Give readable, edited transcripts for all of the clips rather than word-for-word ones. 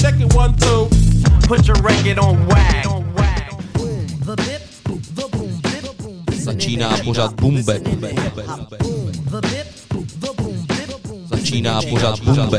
check it 1, 2. Put your record on wag. Začíná pořad Bumbe. Začíná pořad Bumbe.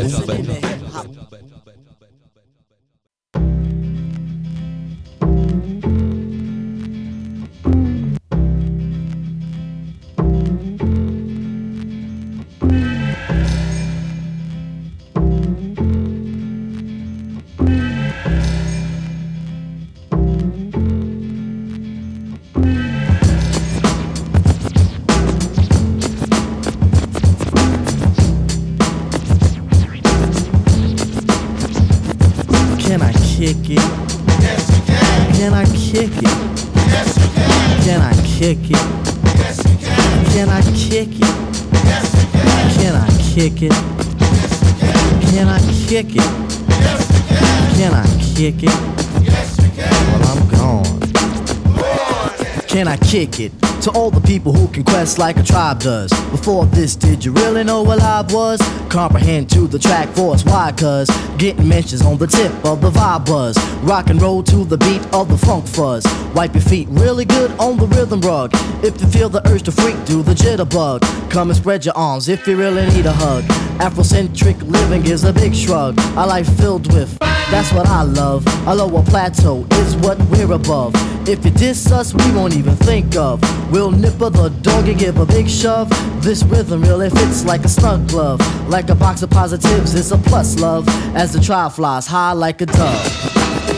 Kick it? Yes, you can. Can I kick it? Yes, you can. Can I kick it? Yes, you can. Can I kick it? Yes, you can. Can I kick it? Yes, you can. Can I kick it? Yes, you can. Can I kick it? Yes, you can. Well, I'm gone. Can I kick it? To all the people who can quest like a tribe does. Before this, did you really know what live was? Comprehend to the track force, why? Cause getting mentions on the tip of the vibe buzz. Rock and roll to the beat of the funk fuzz. Wipe your feet really good on the rhythm rug. If you feel the urge to freak, do the jitterbug. Come and spread your arms if you really need a hug. Afrocentric living is a big shrug. A life filled with, that's what I love. A lower plateau is what we're above. If you diss us, we won't even think of. We'll nipper the dog and give a big shove. This rhythm really fits like a snug glove. Like a box of positives, it's a plus love. As the trial flies high like a dove.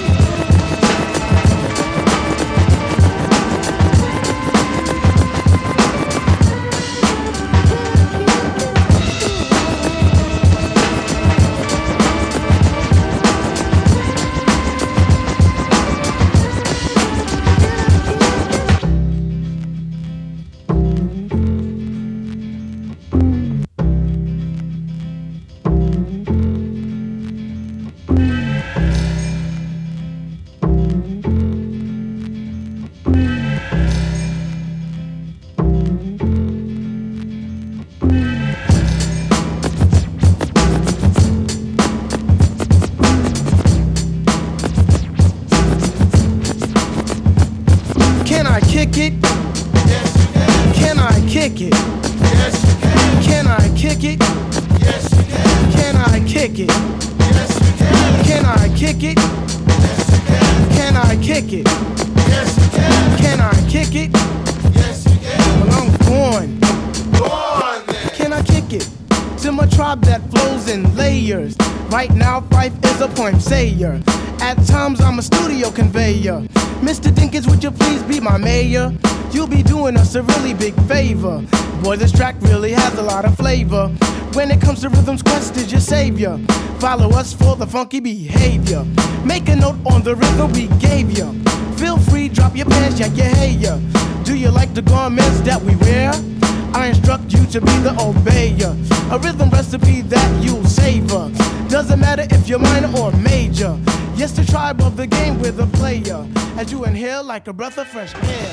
At times I'm a studio conveyor. Mr. Dinkins, would you please be my mayor? You'll be doing us a really big favor. Boy, this track really has a lot of flavor. When it comes to rhythms, Quest is your savior. Follow us for the funky behavior. Make a note on the rhythm we gave you. Feel free, drop your pants, yak your hair. Do you like the garments that we wear? I instruct you to be the obeyer. A rhythm recipe that you'll savor. Doesn't matter if you're minor or major. Yes, the tribe of the game with a player. As you inhale like a breath of fresh air.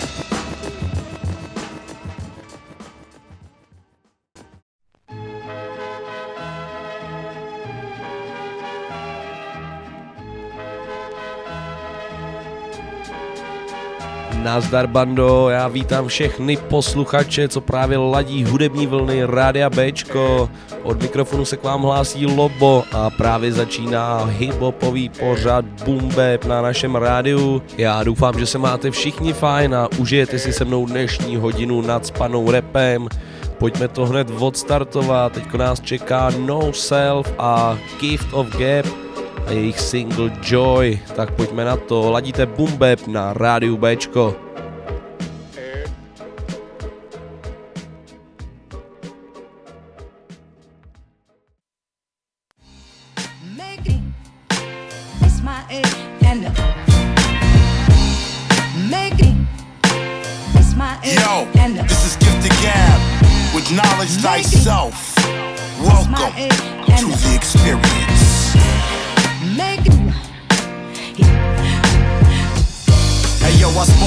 Nazdar bando, já vítám všechny posluchače, co právě ladí hudební vlny Rádia Bčko. Od mikrofonu se k vám hlásí Lobo a právě začíná hiphopový pořad Boom Bap na našem rádiu. Já doufám, že se máte všichni fajn a užijete si se mnou dnešní hodinu nacpanou rapem. Pojďme to hned odstartovat, teďko nás čeká No Self a Gift of Gap a jejich single Joy, tak pojďme na to, ladíte Boom Bap na rádiu Bčko. Yo, this is Gift of Gab with knowledge thyself. Welcome to the experience. Hey yo, I spark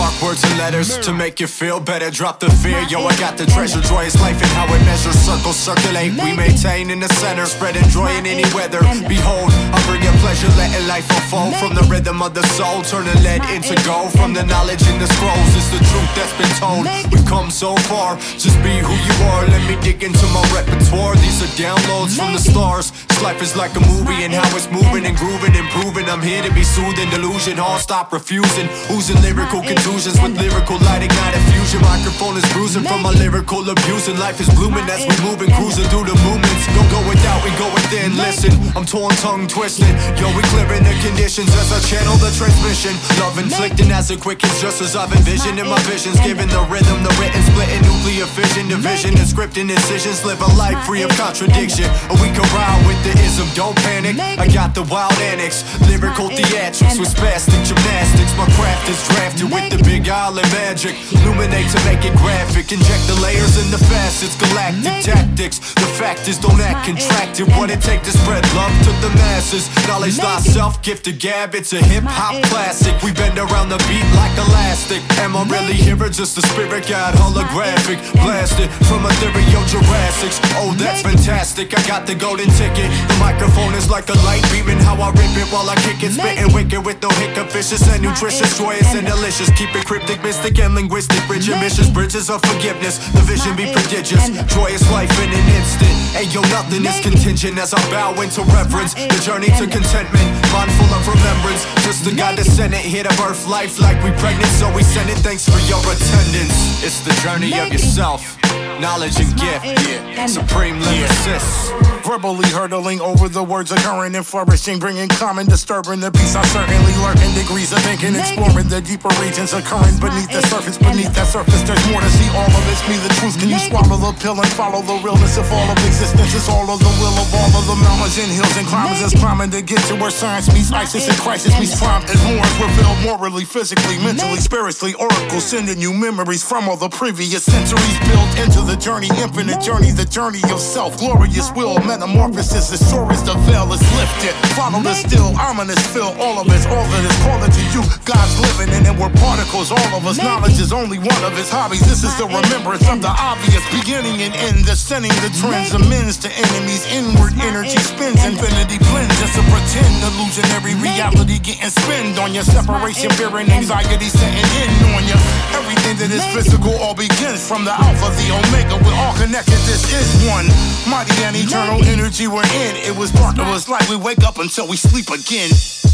mark words and letters to make you feel better. Drop the fear, yo, I got the treasure. Joyous life and how it measures. Circles circulate, we maintain in the center. Spreading joy in any weather. Behold, I bring you pleasure, letting life unfold. From the rhythm of the soul, turning lead into gold. From the knowledge in the scrolls, it's the truth that's been told. We've come so far, just be who you are. Let me dig into my repertoire. These are downloads from the stars. This life is like a movie and how it's moving and grooving, improving. I'm here to be soothing, delusion, all stop refusing. Oozing lyrical contusions with lyrical light, ignite a fusion. Microphone is bruising from my lyrical abusing. Life is blooming as we moving, cruising through the movements. Don't go without, we go within. Listen, I'm torn, tongue twisted. Yo, we clearing the conditions as I channel the transmission. Love inflicting as it quickens, just as I've envisioned in my visions. Giving the rhythm, the written, splitting nuclear fission, division and scripting incisions. Live a life free of contradiction. Or we can ride with the ism, don't panic. I got the wild annex, lyrical theatrics with spastic gymnastics. My craft is drafted with the big island magic. Illuminate to make it graphic. Inject the layers and the facets, galactic tactics. The fact is, don't act contracted. What it take to spread love to the masses. Knowledge thyself, gifted gab, it's a hip-hop classic. We bend around the beat like elastic. Am I really here or just a spirit guide? Holographic, blasted from ethereal Jurassics. Oh, that's fantastic, I got the golden ticket. The microphone is like a light beaming. How I rip it while I kick it. Spitting wicked with no hiccup. Vicious and nutritious, joyous and delicious. Keep it cryptic, mystic and linguistic. Bridge ambitious, bridges of forgiveness. The vision be prodigious. Joyous life in an instant. Hey yo, nothing is contingent as I bow into reverence. The journey to contentment, mindful of remembrance. Just the God that sent it here to birth life like we pregnant. So we send it, thanks for your attendance. It's the journey of yourself. Knowledge and gift, supreme lyricist. Verbally hurtling over the words occurring and flourishing, bringing calm and disturbing the peace. I certainly lurking degrees of thinking, exploring the deeper regions occurring beneath the surface. Beneath that surface, there's more to see. All of it's me, the truth. Can you swallow the pill and follow the realness of all of existence? It's all of the will of all of the mountains and hills and climbers is climbing to get to where science meets ISIS and crisis meets crime. And horns revealed morally, physically, mentally, spiritually. Oracles sending you memories from all the previous centuries. Built into the journey, infinite journey, the journey of self. Glorious will, metamorphosis, as sure as the veil is lifted. Follow the still, ominous feel, all of it's all that is calling to you. God's living in it, we're particles, all of us. Knowledge is only one of his hobbies. This is the remembrance of the obvious, beginning and end, descending the trends, amends to enemies. Inward energy spins, infinity blends. Just a pretend illusionary reality getting spinned on your separation, fear and anxiety setting in on you. Everything that is physical all begins from the Alpha, the Omega. We're all connected, this is one mighty and eternal energy we're in. It was dark, it was like we wake up until we sleep again.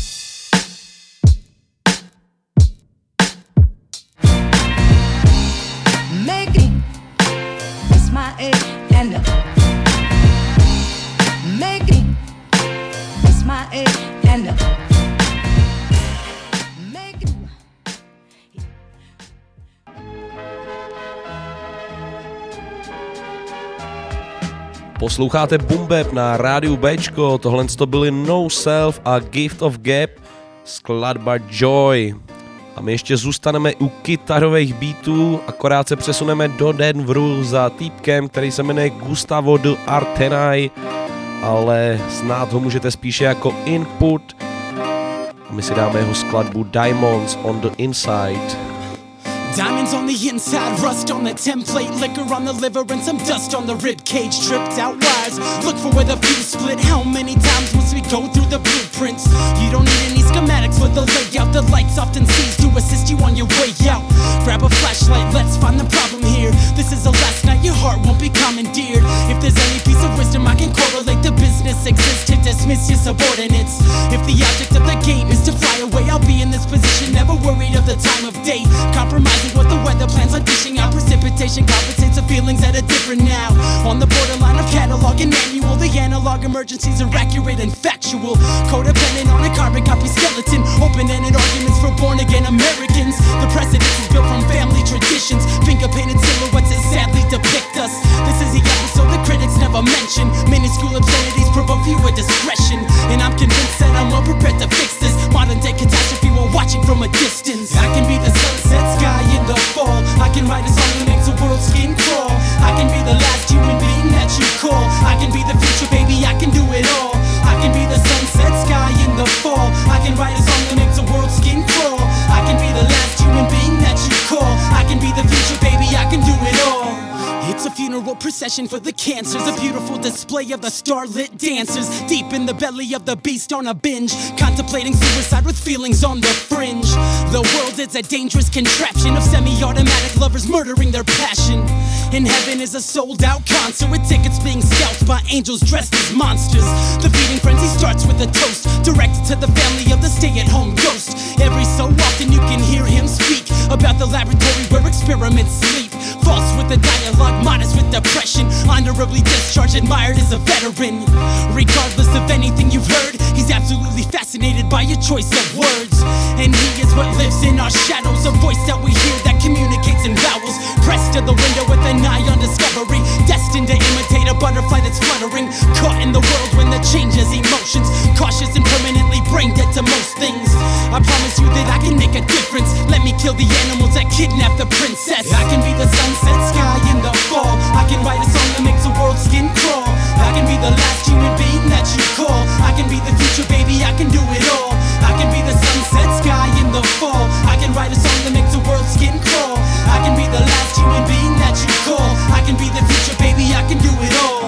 Make it, it's my agenda. Make it, it's my agenda. Make it. Posloucháte Boom Bap na rádiu Bčko, tohle to byly No Self a Gift of Gap, skladba Joy. A my ještě zůstaneme u kytarových beatů, akorát se přesuneme do Denveru za týpkem, který se jmenuje Gustavo de Artenay, ale znát ho můžete spíše jako Input. A my si dáme jeho skladbu Diamonds on the Inside. Diamonds on the inside, rust on the template, liquor on the liver and some dust on the rib cage. Tripped out wires, look for where the fuse split. How many times must we go through the blueprints? You don't need any schematics for the layout. The lights often cease to assist you on your way out. Grab a flashlight, let's find the problem here. This is the last night, your heart won't be commandeered. If there's any piece of wisdom I can correlate, the business exists to dismiss your subordinates. If the object of the game is to fly away, I'll be in this position, never worried of the time of day. Compromising what the weather plans on dishing out. Precipitation compensates the feelings that are different now. On the borderline of catalog and manual, the analog emergencies are accurate and factual. Codependent on a carbon copy skeleton. Open-ended arguments for born-again Americans. The precedent is built from family traditions. Finger-painted silhouettes that sadly depict us. This is the episode the critics never mention. Minuscule obscenities provoke viewer discretion. And I'm convinced that I'm well prepared to fix this modern-day catastrophe while watching from a distance. I can be the sunset sky in the fall. I can write a song that makes the world's skin crawl. I can be the last human being that you call. I can be the future, baby, I can do it all. I can be the sunset sky in the fall. I can write a song that makes the world's skin crawl. I can be the last human being that you procession for the cancers. A beautiful display of the starlit dancers. Deep in the belly of the beast on a binge. Contemplating suicide with feelings on the fringe. The world is a dangerous contraption of semi-automatic lovers murdering their passion. In heaven is a sold-out concert with tickets being scalped by angels dressed as monsters. The feeding frenzy starts with a toast directed to the family of the stay-at-home ghost. Every so often you can hear him speak about the laboratory where experiments sleep. False with the dialogue, modest with depression. Honorably discharged, admired as a veteran. Regardless of anything you've heard, he's absolutely fascinated by your choice of words. And he is what lives in our shadows, a voice that we hear that communicates in vowels. Pressed to the window with an eye on discovery, destined to imitate a butterfly that's fluttering. Caught in the world when the changes emotions, cautious and permanently brain dead to most things. I promise you that I can make a difference. Let me kill the animals that kidnap the princess. I can be the sunset sky in the fall. I can write a song that makes the world's skin crawl. I can be the last human being that you call. I can be the future, baby, I can do it all. I can be the sunset sky in the fall. I can write a song that makes the world's skin crawl. I can be the last human being that you call. I can be the future, baby, I can do it all.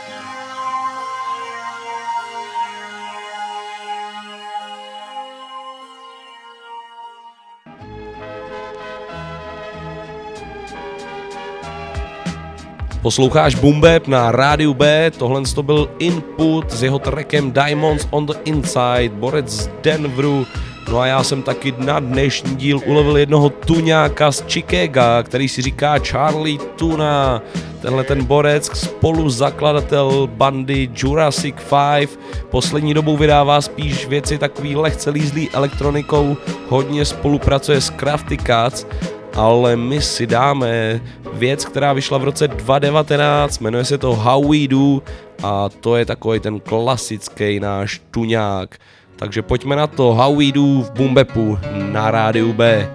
Posloucháš Boom Bap na rádiu B, tohle to byl Input s jeho trackem Diamonds on the Inside, borec z Denveru. No a já jsem taky na dnešní díl ulovil jednoho tuňáka z Chicaga, který si říká Charlie Tuna. Tenhle ten borec, spoluzakladatel bandy Jurassic 5, poslední dobou vydává spíš věci takový lehce lízlý elektronikou, hodně spolupracuje s Crafty Cats, ale my si dáme věc, která vyšla v roce 2019, jmenuje se to How We Do a to je takový ten klasický náš tuňák. Takže pojďme na to, How We Do v Boom Bapu na rádiu B.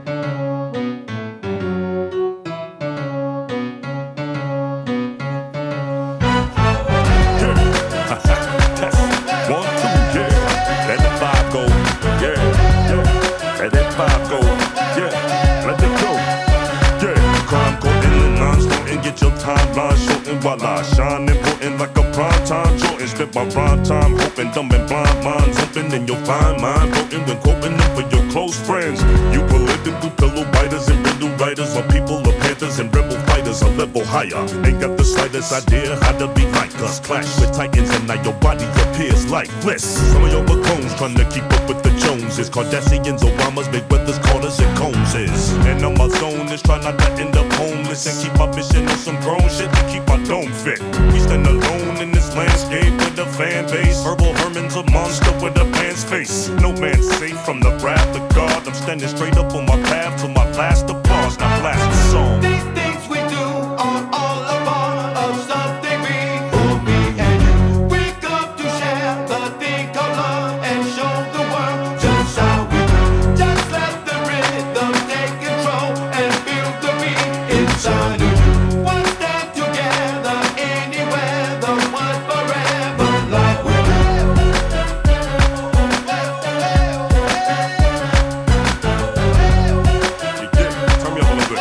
While I shine important like a prime time Jordan, spit my rhyme time, hoping dumb and blind minds open, and you'll find mine broken when quoting them for your close friends. You political pillow biters and riddle writers, or people of panthers and rebel fighters a level higher. Ain't got the slightest idea how to be like us. Clash with titans and now your body appears lifeless. Some of your bacones trying to keep up with the Joneses, Kardashians, Obamas, Mayweathers, Carters, and Coneses. And on my zone is trying not to end up homeless and keep my mission on some grown shit to keep my dome fit. We stand alone in this landscape with a fan base. Herbal Herman's a monster with a man's face. No man's safe from the wrath of God. I'm standing straight up on my path to my last applause. Now blast the song. These things we do are all a part of something big for me and you. We come to share the thing called love and show the world just how we do. Just let the rhythm take control and feel the beat inside of you. One stand together anywhere, the one forever like we do. Turn me up a little bit.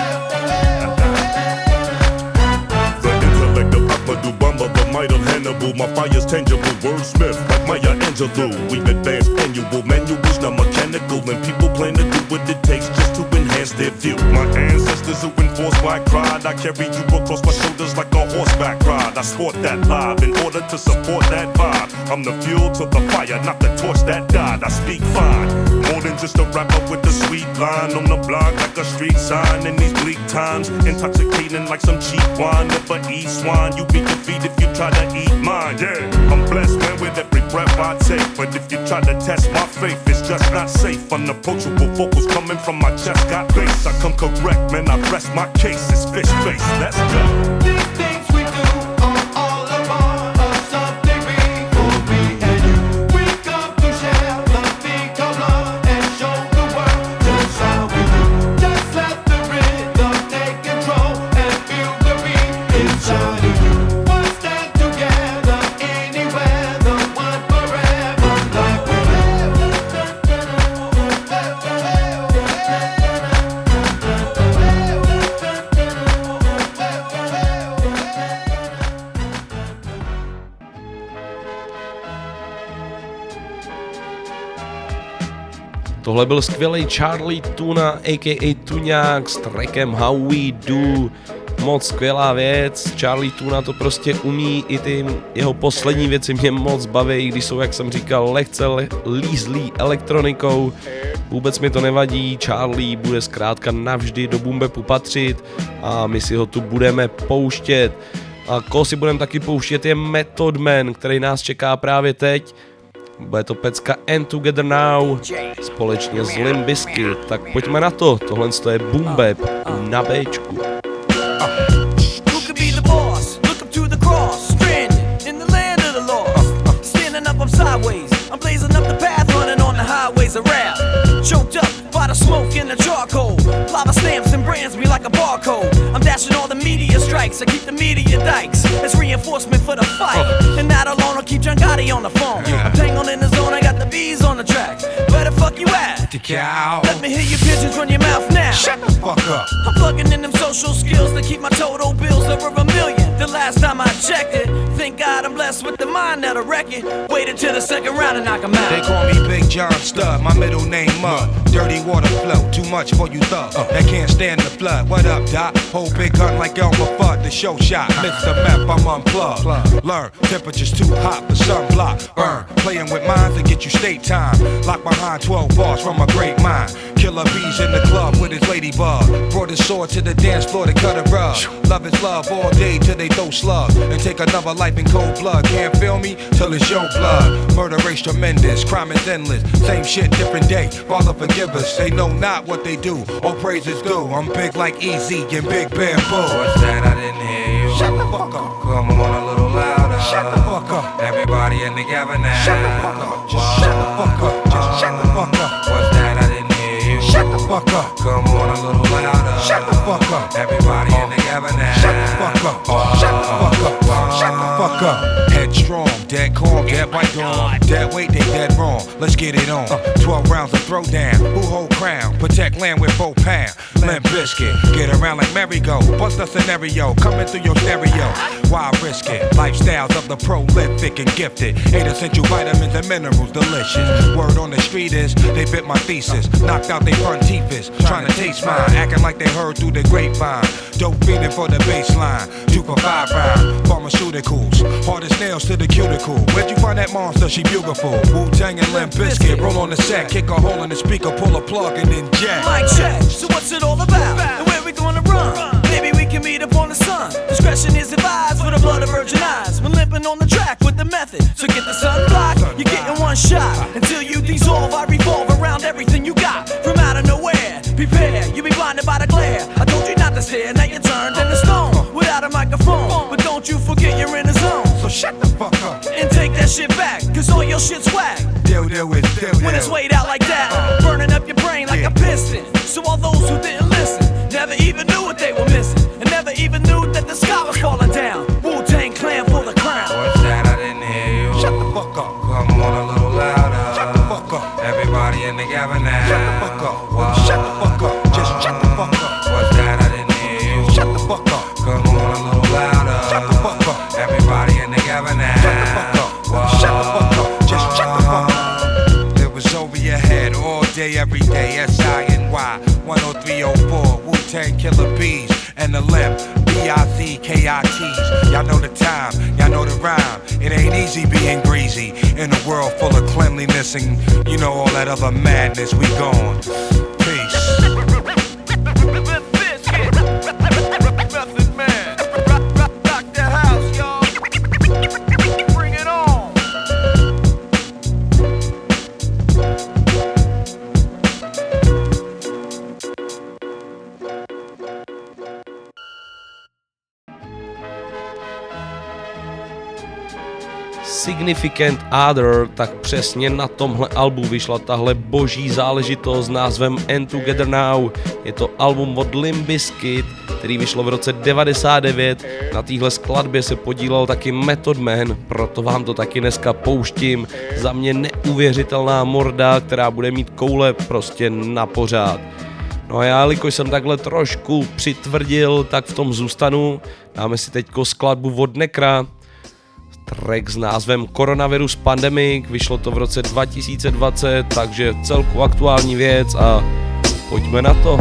The intellect of Amadou Bamba, the might of Hannibal. My fire's tangible, wordsmith like Maya Angelou. We've advanced annual manuals, not mechanical, and people plan to do what it takes just to enhance their view. My ancestors who enforced black pride, I carry you across my shoulders like a horseback ride. I sport that live in order to support that vibe. I'm the fuel to the fire, not the torch that died. I speak fine, more than just a rapper with a sweet line on the block like a street sign. In these bleak times, intoxicating like some cheap wine. Never eat swine, you be defeated if you try to eat mine. Yeah, I'm blessed, man, with every breath I take. But if you try to test my faith, it's just not safe. Unapproachable vocals coming from my chest got bass. I come correct, man, I rest my case. It's fish face, let's go. These things we do are all a part of something big for me and you. We come to share the thing called love and show the world just how we do. Just let the rhythm take control and feel the beat inside of you. One stand together anywhere, the one forever like we do. Tohle byl skvělý Charlie Tuna, a.k.a. Tuňák s trackem How We Do. Moc skvělá věc, Charlie Tuna to prostě umí, i ty jeho poslední věci mě moc baví, když jsou, jak jsem říkal, lehce lízlý elektronikou. Vůbec mi to nevadí, Charlie bude zkrátka navždy do boom bapu patřit a my si ho tu budeme pouštět. A koho si budeme taky pouštět je Method Man, který nás čeká právě teď. Bude to pecka And Together Now společně s Limp Bizkit. Tak pojďme na to, tohle je boom bap na Bčku. Sideways, I'm blazing up the path, running on the highways of rap. Choked up by the smoke and the charcoal. Lava stamps and brands me like a barcode. I'm dashing all the media strikes, I keep the media dikes. It's reinforcement for the fight. And not alone, I'll keep John Gotti on the phone. I'm tangled in the zone, I got the bees on the track. Where the fuck you at? The cow. Let me hear your pigeons run your mouth now. Shut the fuck up. I'm plugging in them social skills to keep my total bills over $1 million. The last time I checked it, thank God I'm blessed with the mind that'll wreck it. Waited till the second round and knock him out. They call me Big John Stud, my middle name Mud. Dirty water flow, too much for you thugs that can't stand the flood. What up, Doc? Hold big gun like Elmer Fudd, the show shot. Mr. Meth, I'm unplugged. Learn, temperature's too hot for sunblock. Burn, playing with minds to get you state time. Lock behind 12 bars from a great mind. Killer bees in the club with his ladybug. Brought his sword to the dance floor to cut a rug. Love is love all day till they throw slugs and take another life in cold blood. Can't feel me till it's your blood. Murder rate's tremendous, crime is endless. Same shit, different day. Father forgive us. They know not what they do. All praises due. I'm big like Easy and Big Bamboo. What's that? I didn't hear you. Shut the fuck up. Come on a little louder. Shut the fuck up. Everybody in together now. Shut the fuck up. Just shut the fuck up. Just shut the fuck up. What's that? I didn't hear you. Shut the fuck up. Come on a little louder. Shut the fuck up. Everybody in together now. Shut the fuck up. Shut the fuck up. Shut the fuck up. Headstrong, dead calm, dead by dawn. Dead weight, they dead wrong. Let's get it on. 12 rounds of throwdown. Who hold crown? Protect land with 4 pounds. Limp Bizkit. Get around like merry-go. Bust a scenario. Coming through your stereo. Why risk it? Lifestyles of the prolific and gifted. 8 essential vitamins and minerals. Delicious. Word on the street is they bit my thesis. Knocked out they front teeth is. Trying to taste mine. Acting like they heard through the grapevine. Dope feeling for the baseline. 2 for 5 round. Pharmaceuticals. Hard as nails to the cuticle. Where'd you find that monster? She beautiful. Wu-Tang and Limp Bizkit. Roll on the set. Kick a hole in the speaker. Pull a plug and then jack. Mic check. So what's it all about? And where we gonna run? Maybe we can meet up on the sun. Discretion is advised for the blood of virgin eyes. We're limping on the track with the method. So get the sunblock. You're getting one shot. Until you dissolve, I revolve around everything you got. From out of nowhere. Prepare. You'll be blinded by the glare. I told you not to stare. Now you're turned into stone. Without a microphone. But don't you forget you're in the zone. So shut the fuck up. And take that shit back. Cause all your shit's whack. Deal with deal. When it's weighed out like that. Burning up your brain like a piston. So all those who didn't listen never even knew what they were missing. And never even knew that the sky was falling down. Wu-Tang Clan for the crown. What's that? I didn't hear you. Shut the fuck up. Come on a little louder. Shut the fuck up. Everybody in together now. Shut the fuck up. Wow. Shut the fuck up. Just shut the fuck up. What's that? I didn't hear you. Shut the fuck up. Come on a little louder. Shut the fuck up. Everybody in together now. Shut the fuck up. Wow. Shut the fuck up. Just shut the fuck up. It was over your head all day, every day. S-I-N-Y 10304. Wu-Tang Killer Bees and the Limp. B-I-Z-K-I-T's. Y'all know the time, y'all know the rhyme. It ain't easy being greasy in a world full of cleanliness and you know all that other madness. We gone. Peace. Significant Other, tak přesně na tomhle albu vyšla tahle boží záležitost s názvem And Together Now. Je to album od Limp Bizkit, který vyšlo v roce 99. Na téhle skladbě se podílel taky Method Man, proto vám to taky dneska pouštím. Za mě neuvěřitelná morda, která bude mít koule prostě na pořád. No a já, jelikož jsem takhle trošku přitvrdil, tak v tom zůstanu. Dáme si teďko skladbu od Nekra. track s názvem Coronavirus Pandemic, vyšlo to v roce 2020, takže celku aktuální věc a pojďme na to.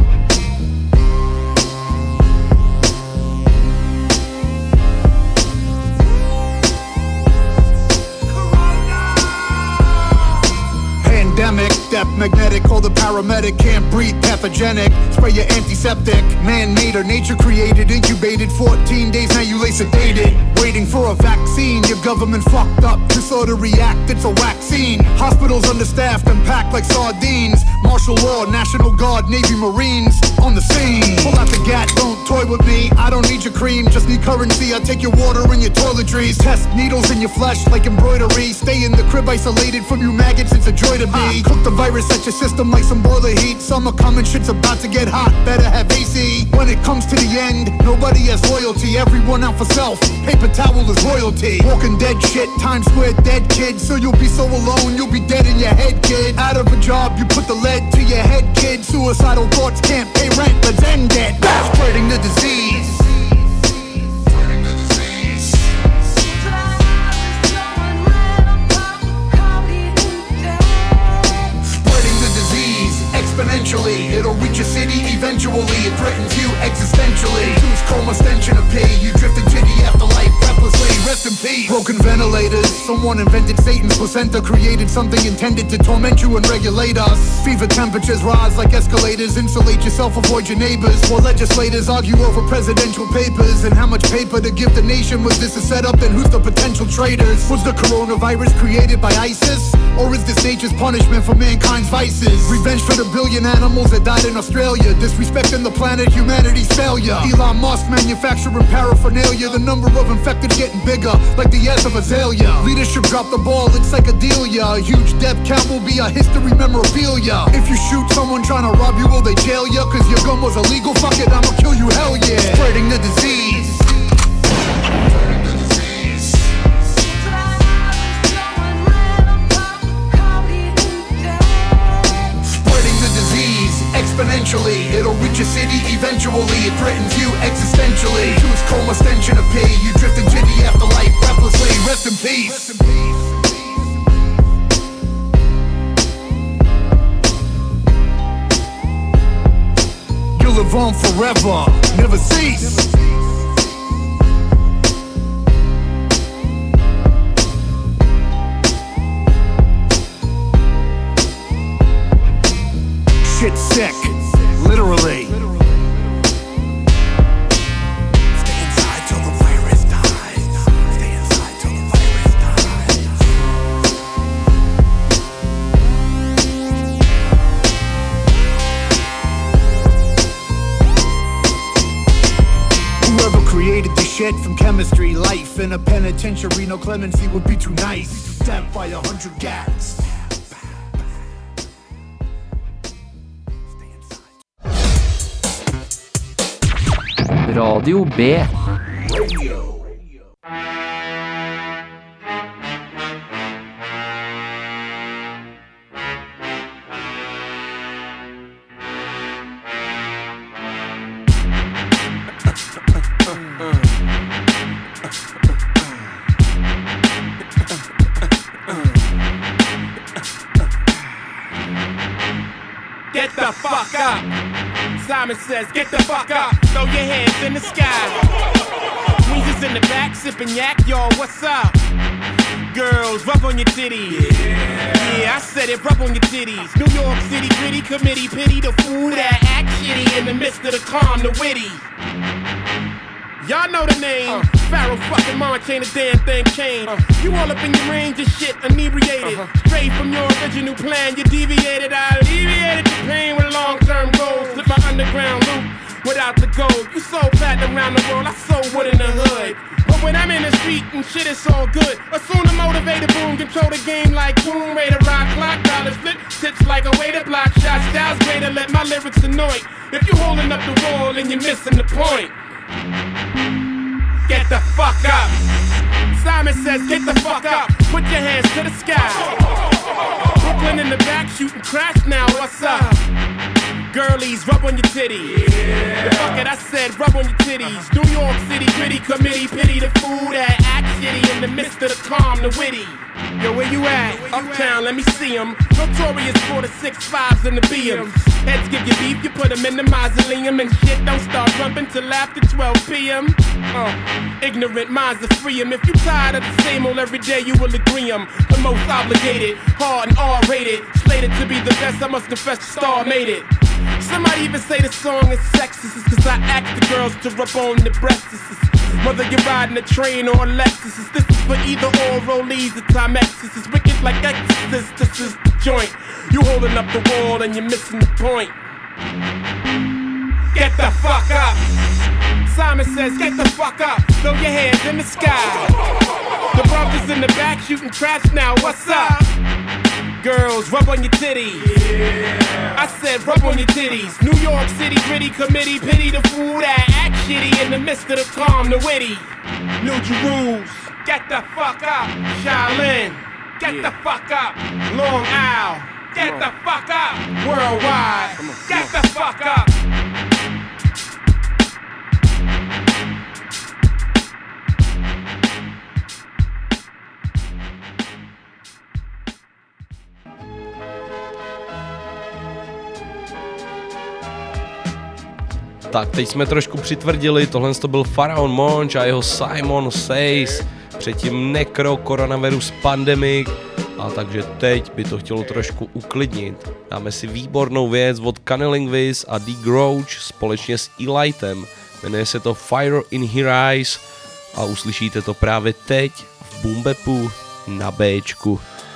Pandemic, death magnetic, call the paramedic, can't breathe, pathogenic, spray your antiseptic, man-made or nature created, incubated, 14 days, now you lay sedated, waiting for a vaccine, your government fucked up, disorder react, it's a vaccine, hospitals understaffed and packed like sardines, martial law, National Guard, Navy, Marines, on the scene, pull out the gat, don't toy with me, I don't need your cream, just need currency, I take your water and your toiletries, test needles in your flesh like embroidery, stay in the crib isolated from you maggots, it's a joy to be. Cook the virus at your system like some boiler heat. Summer coming, shit's about to get hot. Better have AC. When it comes to the end, nobody has loyalty. Everyone out for self. Paper towel is royalty. Walking dead shit. Times Square dead kid. So you'll be so alone, you'll be dead in your head, kid. Out of a job, you put the lead to your head, kid. Suicidal thoughts can't pay rent. Let's end it. Spreading the disease. Exponentially, it'll reach a city eventually. It threatens you existentially. Choose coma stench in a pay. You drift into the afterlife breathlessly. Rest in peace. Broken ventilators. Someone invented Satan's placenta. Created something intended to torment you and regulate us. Fever temperatures rise like escalators. Insulate yourself, avoid your neighbors. While legislators argue over presidential papers and how much paper to give the nation. Was this a setup? Then who's the potential traitors? Was the coronavirus created by ISIS? Or is this nature's punishment for mankind's vices? Revenge for the billion animals that died in Australia. Disrespecting the planet, humanity's failure. Elon Musk manufacturing paraphernalia. The number of infected getting bigger, like the S of azalea. Leadership dropped the ball, it's psychedelia. A huge death count will be a history memorabilia. If you shoot someone trying to rob you, will they jail ya? Cause your gun was illegal, fuck it, I'ma kill you, hell yeah. Spreading the disease. Exponentially, it'll reach a city eventually. It threatens you existentially. Choose coma stench in a pay. You drift into the afterlife breathlessly. Rest in peace. Rest in peace. You'll live on forever, never cease. Shit's sick, literally. Stay inside till the virus dies. Stay inside till the virus dies. Whoever created the shit from chemistry, life in a penitentiary, no clemency would be too nice. Stabbed by 100 gats. Radio B. Get the fuck up. Simon says, get the fuck up. Throw your hands in the sky. Weezer's in the back, sipping yak, y'all, what's up? Girls, rub on your titties. Yeah, I said it, rub on your titties. New York City gritty committee, pity the fool that act shitty in the midst of the calm, the witty. Y'all know the name. Pharaoh fucking March ain't a damn thing changed. You all up in your range of shit, inebriated. Straight from your original plan, you deviated. I alleviated the pain with long-term goals. Slip my underground loop without the gold. You so fat around the world, I so wood in the hood. But when I'm in the street and shit, it's all good. Assume the motivated boom, control the game like boom. Rate a rock clock, dollars flip, tips like a way to block shots. Styles way to let my lyrics annoy. If you holding up the wall and you're missing the point. Get the fuck up. Simon says, get the fuck up. Put your hands to the sky. Brooklyn in the back shooting crash now, what's up? Girlies, rub on your titties. Yeah. Fuck it, I said rub on your titties. New York City gritty committee, pity the fool that acts shitty in the midst of the calm, the witty. Yo, where you at? Uptown, let me see 'em. Notorious for the 6.5s and the BMs. Heads give you beef, you put 'em in the mausoleum. And shit don't start rumping till after 12 p.m. Ignorant minds are free 'em. If you tired of the same old every day, you will agree 'em. The most obligated, hard and R-rated. Slated to be the best, I must confess the star made it. Somebody even say the song is sexist, cause I ask the girls to rub on the breasts. Whether you're riding a train or a Lexus, this is for either or rollies or Timexes. It's wicked like Exorcist, this is the joint. You holding up the wall and you're missing the point. Get the fuck up. Simon says, get the fuck up. Throw your hands in the sky. The brothers in the back shooting traps now, what's up? Girls, rub on your titties. Yeah. I said rub on your titties. New York City gritty committee, pity the fool that act shitty in the midst of the calm, the witty. New Jerusalem, get the fuck up. Shaolin, get the fuck up. Long Isle, get the fuck up. Worldwide, get the fuck up. Tak, teď jsme trošku přitvrdili, tohle to byl Pharaoh Monch a jeho Simon Says, předtím Necro, Coronavirus Pandemic, a takže teď by to chtělo trošku uklidnit. Dáme si výbornou věc od Cunnilingus a D. Grouch společně s Elitem, jmenuje se to Fire in Her Eyes a uslyšíte to právě teď v Boom Bapu na Bčku.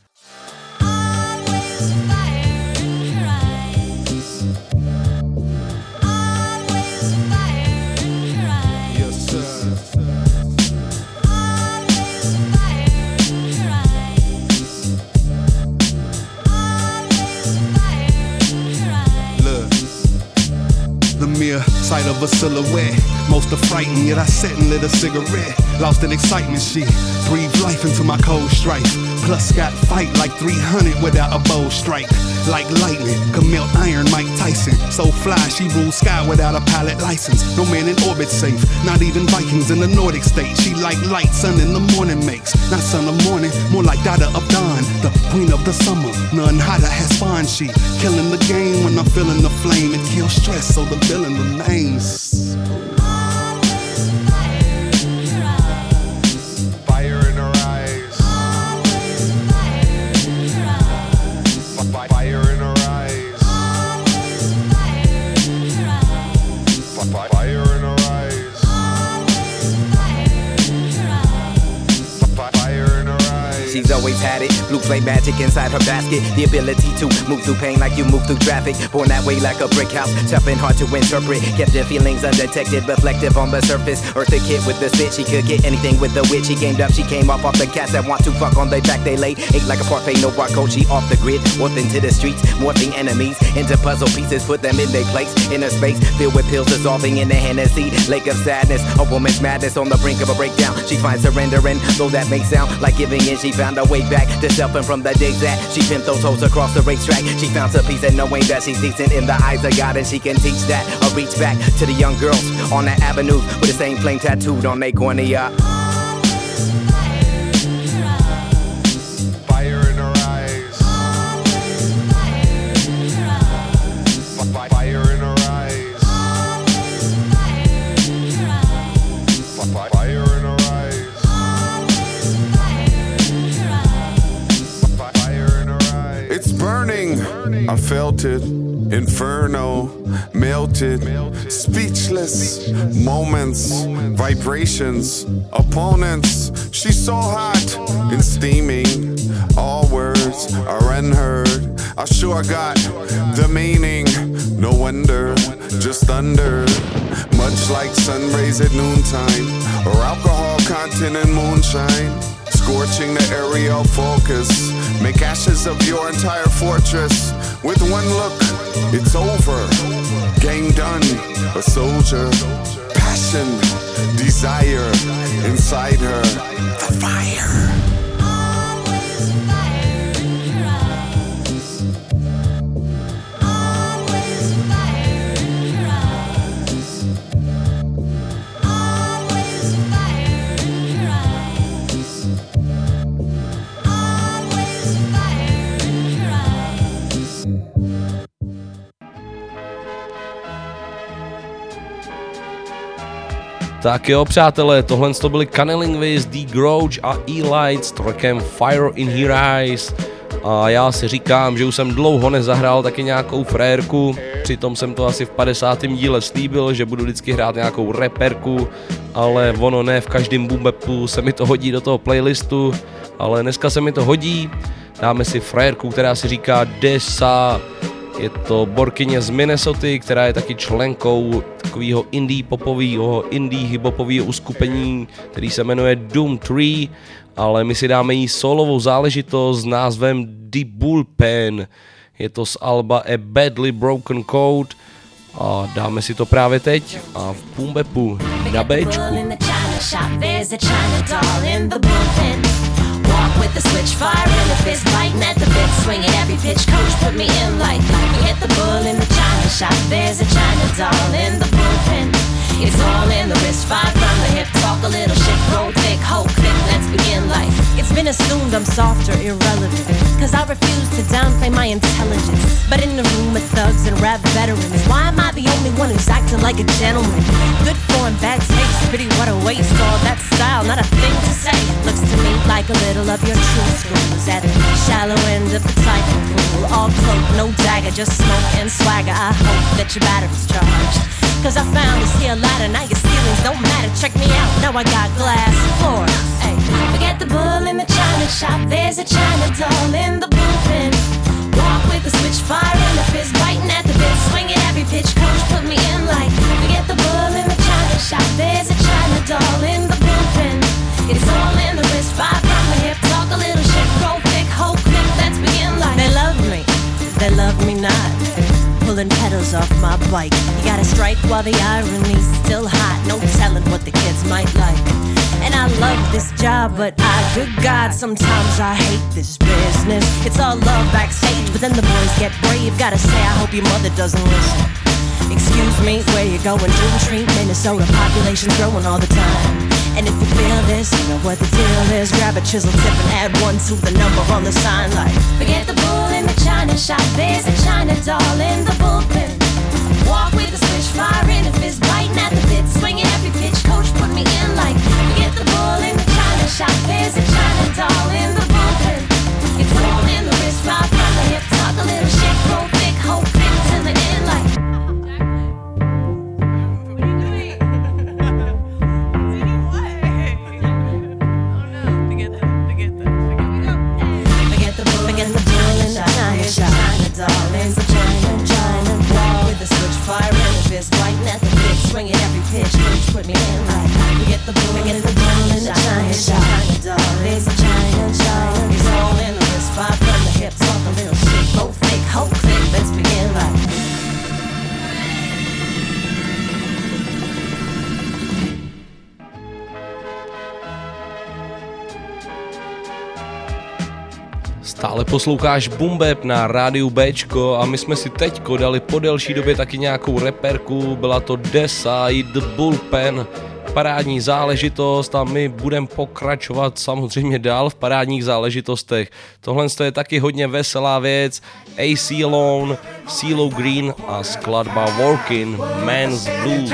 Sight of a silhouette, most are frightened, yet I sat and lit a cigarette. Lost in excitement, she breathed life into my cold strife. Plus got fight like 300 without a bow strike. Like lightning, could melt iron, Mike Tyson. So fly, she rules sky without a pilot license. No man in orbit safe, not even Vikings in the Nordic state. She like light, sun in the morning makes. Not sun of morning, more like daughter of dawn. The queen of the summer, none hotter has spawned. She killing the game when I'm feeling the flame. It kills stress, so the villain remains. She's always had it, blue flame magic inside her basket. The ability to move through pain like you move through traffic. Born that way like a brick house, tough and hard to interpret. Kept her feelings undetected, reflective on the surface. Eartha Kitt with the spit, she could get anything with the wit. She gamed up, she came off the cats that want to fuck on the track they lay. Ate like a parfait, no barcode, she off the grid. Warped into the streets, morphing enemies into puzzle pieces, put them in their place. Inner space, filled with pills dissolving in the Hennessy. Lake of sadness, a woman's madness on the brink of a breakdown. She finds surrender, and though that may sound like giving in, she found a way back to self, and from the days that she pimped those hoes across the racetrack, she found some peace in knowing that she's decent in the eyes of God, and she can teach that. Or reach back to the young girls on that avenue with the same flame tattooed on their cornea. I felt it, inferno, melted, speechless, moments, vibrations, opponents. She's so hot and steaming, all words are unheard. I sure got the meaning, no wonder, just thunder. Much like sun rays at noontime, or alcohol content in moonshine. Scorching the aerial focus, make ashes of your entire fortress. With one look, it's over. Game done, a soldier. Passion, desire, inside her, the fire. Tak jo, přátelé, tohle to byli Cunnilingus, The Grouch a E-Light s trackem Fire in Her Eyes. A já si říkám, že už jsem dlouho nezahrál taky nějakou frérku, přitom jsem to asi v 50. díle slíbil, že budu vždycky hrát nějakou reperku, ale ono ne v každém boom bapu se mi to hodí do toho playlistu, ale dneska se mi to hodí, dáme si frérku, která si říká Desa. Je to borkyně z Minnesoty, která je taky členkou takového indie popového, indie hiphopového uskupení, který se jmenuje Doom 3, ale my si dáme jí solovou záležitost s názvem The Bullpen. Je to z alba A Badly Broken Code a dáme si to právě teď a v boom bapu na Bčku. Walk with the switch, fire in the fist, biting at the bit, swinging every pitch. Coach put me in like hit the bull in the china shop. There's a China doll in the bullpen. It's all in the wrist, fire from the hip. Talk a little shit, roll thick, hold quick. Let's begin like it's been assumed I'm soft or irrelevant, cause I refuse to downplay my intelligence. But in the room with thugs and rap veterans, why am I the only one who's acting like a gentleman? Good form, bad taste, pity what a waste. All that style, not a thing to say. Looks to me like a little of your true schools at the shallow end of the cycle pool. All cloak, no dagger, just smoke and swagger. I hope that your battery's charged, cause I found this here ladder. Now your ceilings don't matter, check me out. Now I got glass floors. Hey, forget the bull in the china shop. There's a China doll in the bullpen. Walk with the switch, fire in the fist, biting at the bit, swinging every pitch. Coach put me in like forget the bull in the china shop. There's a China doll in the bullpen. It's all in the wrist, fire from the hip. Talk a little shit, roll thick, hold quick. Let's begin like they love me, they love me not. Pulling pedals off my bike. You gotta strike while the irony's still hot. No telling what the kids might like. And I love this job, but good God, sometimes I hate this business. It's all love backstage, but then the boys get brave. Gotta say, I hope your mother doesn't listen. Excuse me, where you going? Doom Street, Minnesota, population's growing all the time. And if you feel this, you know what the deal is. Grab a chisel tip and add 1 to the number on the sign like forget the bull in the china shop. There's a China doll in the bullpen. Walk with the switch, fire in the fist, biting at the bit, swinging every pitch. Coach put me in like forget the bull in the china shop. There's a China doll in the bullpen. It's all in the wrist, fire from the hip. Talk a little shit, roll thick, hold quick till the end like fire in the fist, biting at the bit, swinging every pitch. Coach put me in like forget the bull in the China shop. There's a China doll. It's all in the wrist, fire from the hip. Talk a little shit, go thick, hold quick. Let's begin like Stále posloucháš Boom Bap na rádiu Bčko a my jsme si teďko dali po delší době taky nějakou reperku, byla to Desa i The Bullpen, parádní záležitost a my budeme pokračovat samozřejmě dál v parádních záležitostech. Tohle je taky hodně veselá věc, AC Alone, CeeLo Green a skladba Working Man's Blues.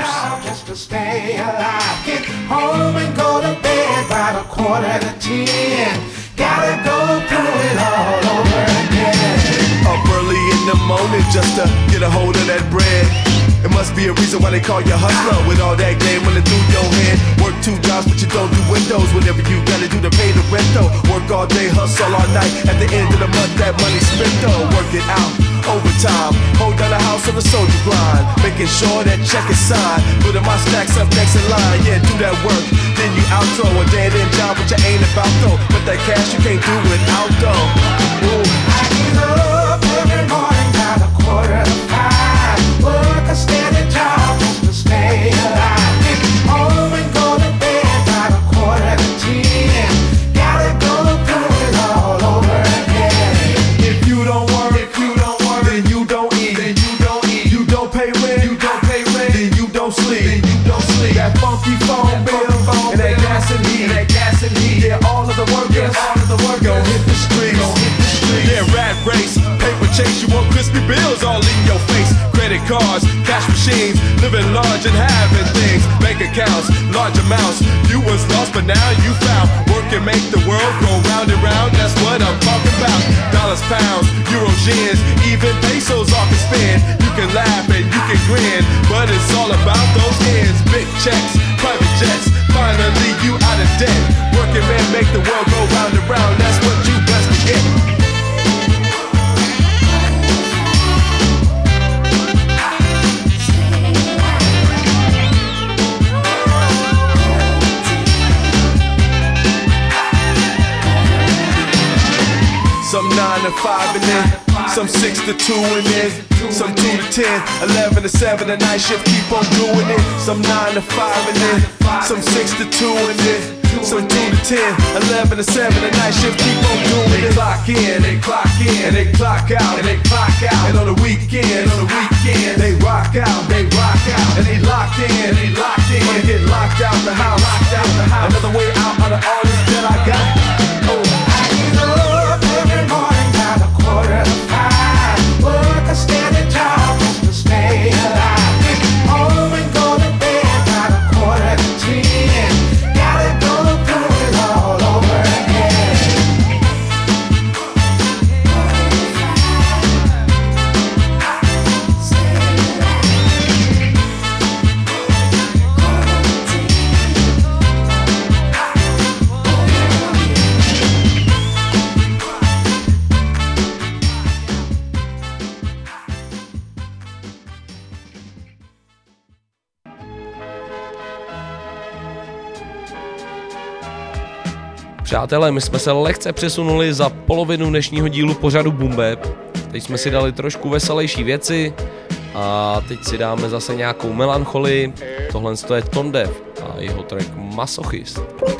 Gotta go through it all over again. Up early in the morning just to get a hold of that bread. It must be a reason why they call you hustler with all that game running through your head. Work 2 jobs but you don't do windows. Whatever you gotta do to pay the rent though. Work all day, hustle all night. At the end of the month that money spent though. Work it out, overtime. Hold down the house on the soldier grind. Making sure that check is signed. Putting my stacks up next in line. Yeah, do that work. Then you outro a dead end job which you ain't about though. But that cash you can't do without though. Ooh. I get up every morning by the 4:45. Work a steady job just to stay alive. Get home and go to bed by the 9:45. Gotta go through it all over again. If you don't work, then you don't eat. You don't pay rent, then you don't sleep. That funky phone bill and that gas and heat. Yeah, all of the workers gon' hit the streets. Yeah, rat race. credit cards, cash machines, living large and having things, bank accounts, large amounts. You was lost, but now you found. Work and make the world go round and round. That's what I'm talking about. Dollars, pounds, euros, yens, even pesos all can spend. You can laugh and you can grin, but it's all about those ends. Big checks, private jets, finally you out of debt. Working man make the world go round and round. That's what you best to get. Some 9 to 5 and then some 6 to 2 and then some 2 to 10, 11 to 7. The night shift keep on doing it. Some 9 to 5 and then some 6 to 2 and then some 2 to 10, 11 to 7. The night shift keep on doing it. They clock in, they clock in, and they clock out, and they clock out. And on the weekend, they rock out, and they locked in, Wanna get locked out the house, Another way out of all this that I got. Oh. Every morning by the 4:45, work a steady job just to stay alive. Home and go to bed by the 9:45. Gotta go through it all over again. Přátelé, my jsme se lehce přesunuli za polovinu dnešního dílu pořadu Boom Bap. Teď jsme si dali trošku veselější věci a teď si dáme zase nějakou melancholii. Tohle je Tone Deaf a jeho track Masochist.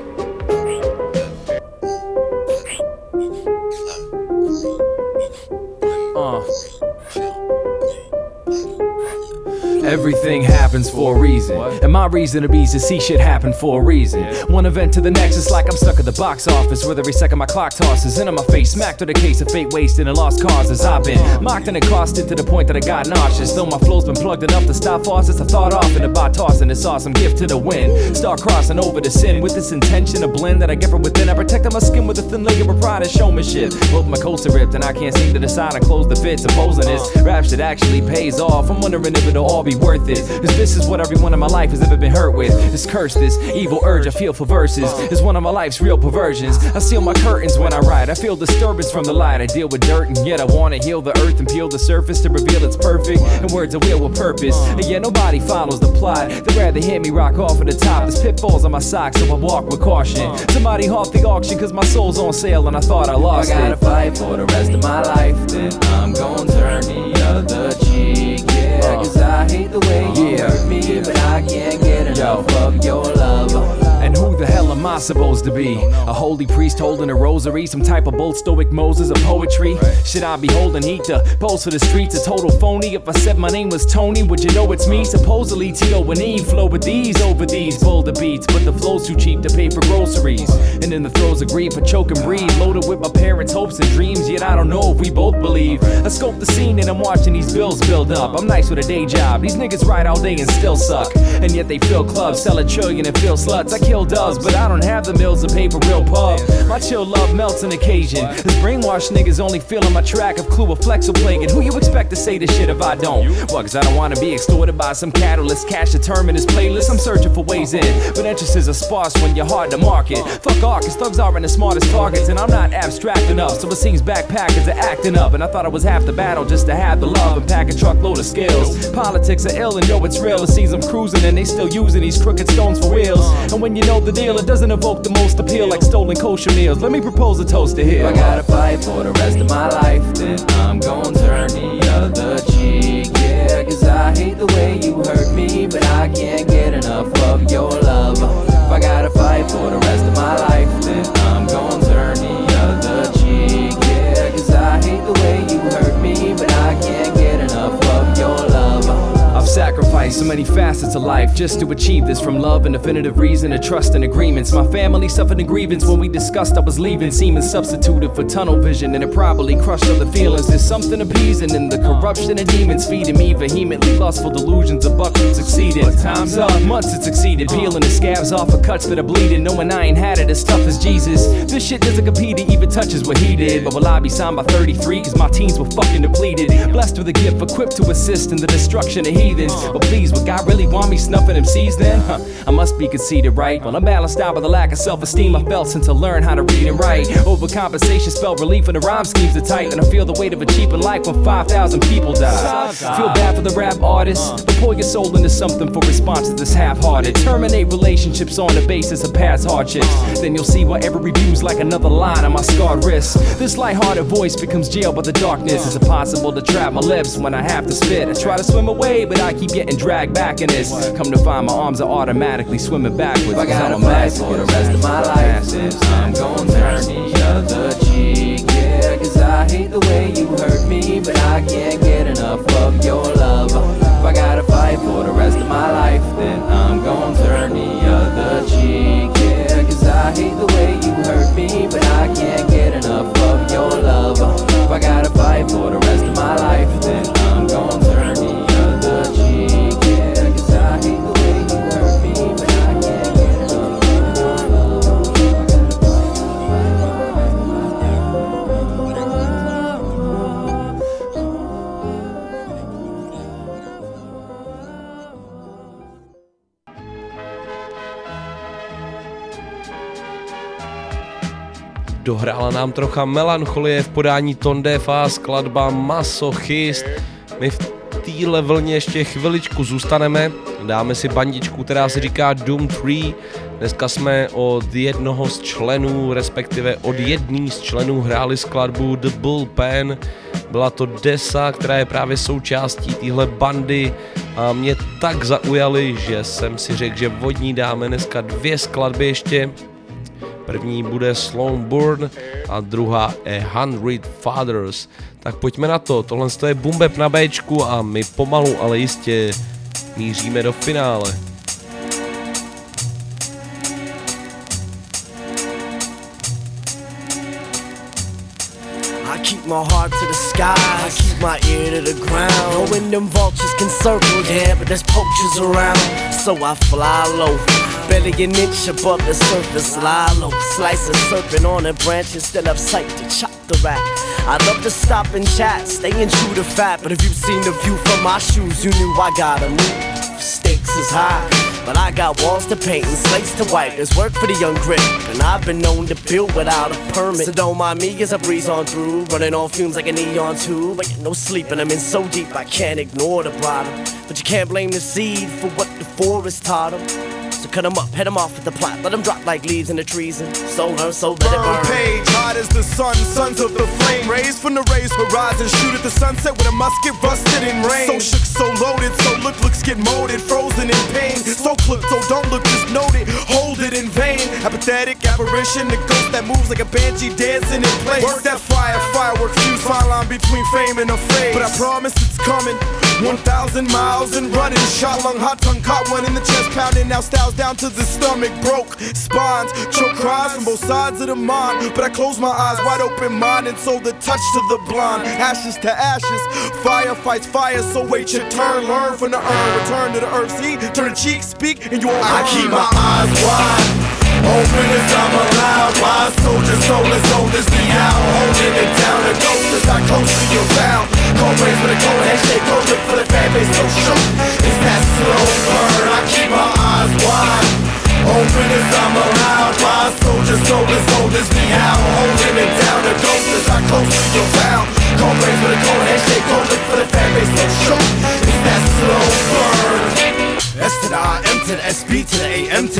Everything happens for a reason, and my reason to be is to see shit happen for a reason. One event to the next, it's like I'm stuck at the box office, where every second my clock tosses into my face, smacked with a case of fate wasted and lost causes. I've been mocked and accosted to the point that I got nauseous. Though my flow's been plugged enough to stop faucets, I thought often about tossing this awesome gift to the wind. Start crossing over the sin with this intention to blend that I get from within. I protected my skin with a thin layer of pride and showmanship. Both my coats are ripped and I can't seem to decide and close the fit. Supposing this rap shit actually pays off, I'm wondering if it'll all be worth it. Cause this is what everyone in my life has ever been hurt with. This curse, this evil urge I feel for verses is one of my life's real perversions. I seal my curtains when I write, I feel disturbance from the light. I deal with dirt and yet I wanna heal the earth and peel the surface to reveal it's perfect. And words are wheel with purpose, and yet nobody follows the plot. They'd rather hear me rock off at the top. There's pitfalls on my socks so I walk with caution. Somebody halt the auction cause my soul's on sale and I thought I lost it. I gotta fight for the rest of my life, then I'm gonna turn the other cheek. Yeah, cause I hate the way you hurt me, but I can't get enough of your love. And who the hell am I supposed to be? A holy priest holding a rosary, some type of bold stoic Moses of poetry? Should I be holding heat to pose for the streets? A total phony. If I said my name was Tony, would you know it's me? Supposedly T.O. and E flow with these over these boulder beats, but the flow's too cheap to pay for groceries. And in the throes of grief, I choke and breathe, loaded with my parents' hopes and dreams. Yet I don't know if we both believe. I scope the scene and I'm watching these bills build up. I'm nice with a day job. These niggas ride all day and still suck. And yet they fill clubs, sell a trillion and fill sluts. I kill doves, but I don't have the mills to pay for real pub. My chill love melts on occasion. This brainwashed niggas only feeling my track of Clue or Flexo plague. And who you expect to say this shit if I don't? Well, cause I don't wanna be extorted by some catalyst. Cash determine this playlist, I'm searching for ways in. But entrances are sparse when you're hard to market. Fuck art, cause thugs aren't the smartest targets. And I'm not abstract enough, so it seems backpackers are acting up. And I thought I was half the battle just to have the love and pack a truckload of skills. Politics are ill and yo, it's real. It seems I'm cruising and they still using these crooked stones for wheels. And when you know the deal, it doesn't evoke the most appeal like stolen kosher meals. Let me propose a toast to here. If I gotta fight for the rest of my life, then I'm gonna turn the other cheek. Yeah, cause I hate the way you hurt me, but I can't get enough of your love. If I gotta fight for the rest of my life, then I'm gonna turn the other cheek. Yeah, cause I hate the way you hurt me, but I can't get enough of your love. I've sacrificed sacrifice so many facets of life just to achieve this. From love and definitive reason to trust and agreements. My family suffered a grievance when we discussed I was leaving. Seeming substituted for tunnel vision, and it probably crushed other feelings. There's something appeasing in the corruption of demons feeding me vehemently lustful delusions of buckets succeeding. But time's up, months it succeeded, peeling the scabs off of cuts that are bleeding, knowing I ain't had it as tough as Jesus. This shit doesn't compete, it even touches what he did. But will I be signed by 33? Cause my teens were fucking depleted. Blessed with a gift equipped to assist in the destruction of heathens. But please, would God really want me snuffing MCs then? I must be conceited, right? Well, I'm balanced out with a lack of self-esteem I felt since I learned how to read and write. Overcompensation spelled relief when the rhyme schemes are tight, and I feel the weight of a cheapened life when 5,000 people die. Feel bad for the rap artists, but pour your soul into something for responses that's half-hearted. Terminate relationships on the basis of past hardships. Then you'll see why every review's like another line on my scarred wrist. This light-hearted voice becomes jailed by the darkness. Is it possible to trap my lips when I have to spit? I try to swim away, but I keep getting dragged back in this. Come to find my arms are automatically swimming backwards. If I gotta fight for the rest of my life, then I'm gon' turn the other cheek. Yeah, cause I hate the way you hurt me, but I can't get enough of your love. If I gotta fight for the rest of my life, then I'm gon' turn the other cheek. Yeah, cause I hate the way you hurt me, but I can't get enough of your love. If I gotta fight for the rest of my life, then I'm gon' turn the other cheek. Yeah, cause I hate the way you hurt me, but I can't get enough of your love. Dohrála nám trocha melancholie v podání Tondefa, skladba Masochist. My v téhle vlně ještě chviličku zůstaneme, dáme si bandičku, která se říká Doom 3. Dneska jsme od jednoho z členů, respektive od jedný z členů hráli skladbu The Bullpen. Byla to desa, která je právě součástí téhle bandy a mě tak zaujaly, že jsem si řekl, že od ní dáme dneska 2 skladby ještě. První bude Sloan Burn a druhá A 100 Fathers. Tak pojďme na to, tohle je Boom Bap na Bčku a my pomalu, ale jistě míříme do finále. I keep my heart to the sky, I keep my ear to the ground. Knowing them vultures can circle, yeah, but there's poachers around. So I fly low, barely an inch above the surface, lie low. Slice a serpent on a branch instead of sight to chop the rat. I love to stop and chat, staying true to fat. But if you've seen the view from my shoes, you knew I gotta move. Stakes is high, but I got walls to paint and slates to wipe. There's work for the young grip, and I've been known to build without a permit. So don't mind me as I breeze on through, running on fumes like a neon tube. I get no sleep and I'm in so deep I can't ignore the bottom. But you can't blame the seed for what the forest taught them. So cut them up, head them off with the plot. Let them drop like leaves in the trees and so learn, so let it burn. Page, hot as the sun, sons of the flame. Raised from the raised horizon, shoot at the sunset with a musket rusted in rain. So shook, so loaded, so looks get molded. Frozen in pain, so clipped, so don't look, just note it. Hold it in vain, apathetic apparition. The ghost that moves like a banshee dancing in place. Work that fire, firework fuse, fine line between fame and a phase. But I promise it's coming, 1,000 miles and running. Shot lung, hot tongue, caught one in the chest pounding. Now styles down to the stomach, broke spines, choke cries from both sides of the mind. But I close my eyes, wide open mind, and so the touch to the blind. Ashes to ashes, fire fights fire, so wait your turn. Learn from the urn, return to the earth, see, turn the cheek, speak, and you won't I keep my eyes wide open as I'm allowed. Wise soldier, soulless, oldest me out. Holding it down, the ghost is not close to your bound. Cold rays with a cold handshake, cold look for the fan base, so shook. It's that slow burn, I keep my eyes wide open as I'm allowed. Wise soldier, soulless, oldest me out. Holding it down, the ghost is not close to your bound. Cold rays with a cold handshake, cold look for the fan base, so shook. It's that slow burn. S to the I, M to the SB to the AM to the L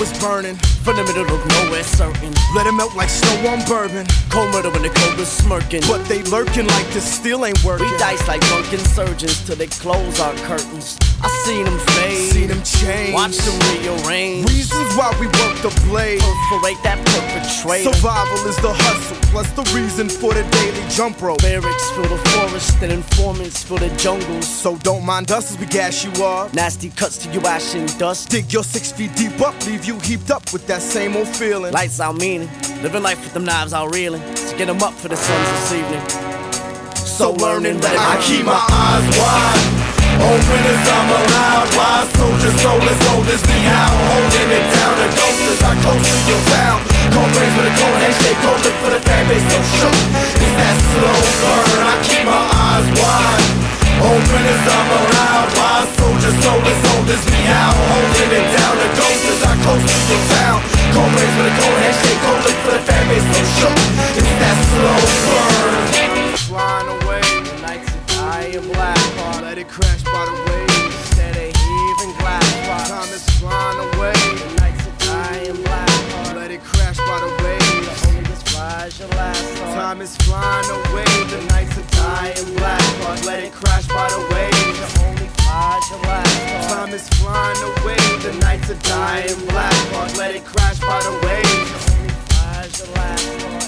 is burning from the middle of nowhere, certain. Let it melt like snow on bourbon. Cold murder when the cobra's smirking. But they lurking like this still ain't working. We dice like drunken surgeons till they close our curtains. I seen them fade, seen them change, watch them rearrange. Reasons why we work the blade, perforate that perpetrator. Survival is the hustle, plus the reason for the daily jump rope. Barracks fill the forest and informants fill the jungles. So don't mind us as we gas you up. Nasty cuts to you ash and dust. Dig your 6 feet deep up, leave you heaped up with that same old feeling. Lights out meaning, living life with them knives out reeling. To get them up for the suns this evening. So learning that I keep my eyes wide open as I'm allowed. Wise soldier, soulless, oldest me out. Holding it down, the ghost as I close to your town. Cold brains with a cold handshake, cold look for the fan base so shook. It's that slow burn, I keep my eyes wide open as I'm allowed. Wise soldier, soulless, oldest me out. Holding it down, the ghost as I close to your town. Cold brains with a cold handshake, cold look for the fan base so shook. It's that slow burn. Flying away, the nights are dying black. Let it crash by the waves. Instead of heaving glass pots. Time is flying away. The nights are dying black. Let it crash by the waves. The only just flies your last thought. Time is flying away. The nights are dying black. Let it crash by the waves. The only flies your last thought. Time is flying away. The nights are dying black. Let it crash by the waves. The only flies your last thought.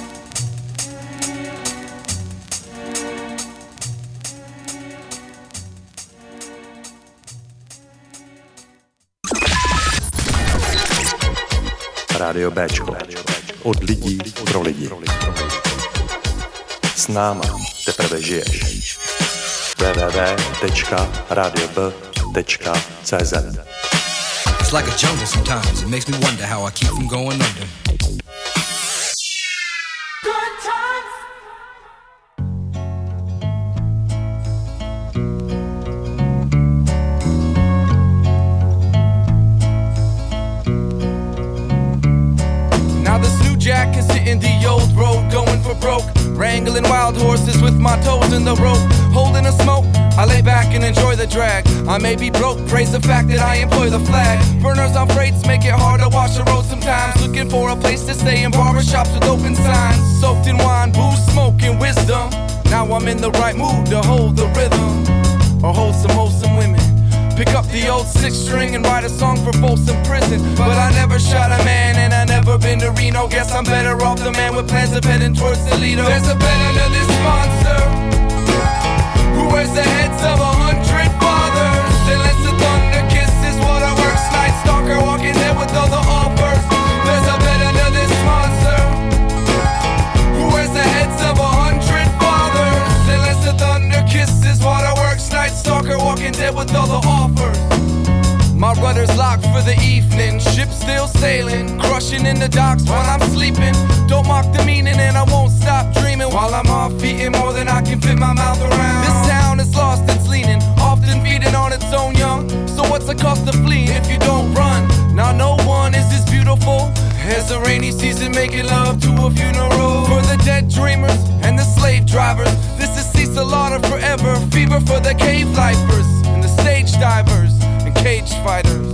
Rádio Béčko. Od lidí pro lidi. S náma teprve žiješ. www.radiob.cz. It's like a jungle sometimes. It makes me wonder how I keep from going under. Jack is hitting the old road, going for broke. Wrangling wild horses with my toes in the rope. Holding a smoke, I lay back and enjoy the drag. I may be broke, praise the fact that I employ the flag. Burners on freights make it hard to watch the road sometimes. Looking for a place to stay in barbershops with open signs. Soaked in wine, booze, smoke, and wisdom. Now I'm in the right mood to hold the rhythm. Or hold some wholesome women. Pick up the old 6-string and write a song for Folsom Prison. But I never shot a man and I never been to Reno. Guess I'm better off the man with plans of heading towards Toledo. There's a better than this monster who wears the heads of 100 fathers. Then lets the thunder kiss his water works. Night stalker walking there with all the offers. There's a better than this monster who wears the heads of 100 fathers. Then lets the thunder kiss his water works. Night stalker walking dead with all the offers. My rudder's locked for the evening. Ship still sailing, crushing in the docks while I'm sleeping. Don't mock the meaning and I won't stop dreaming. While I'm off eating more than I can fit my mouth around. This town is lost, it's leaning, often feeding on its own young. So what's the cost of fleeing if you don't run? Now no one is as beautiful as a rainy season making love to a funeral. For the dead dreamers and the slave drivers, this is Cecil Lauder forever. Fever for the cave lifers and the stage divers and cage fighters.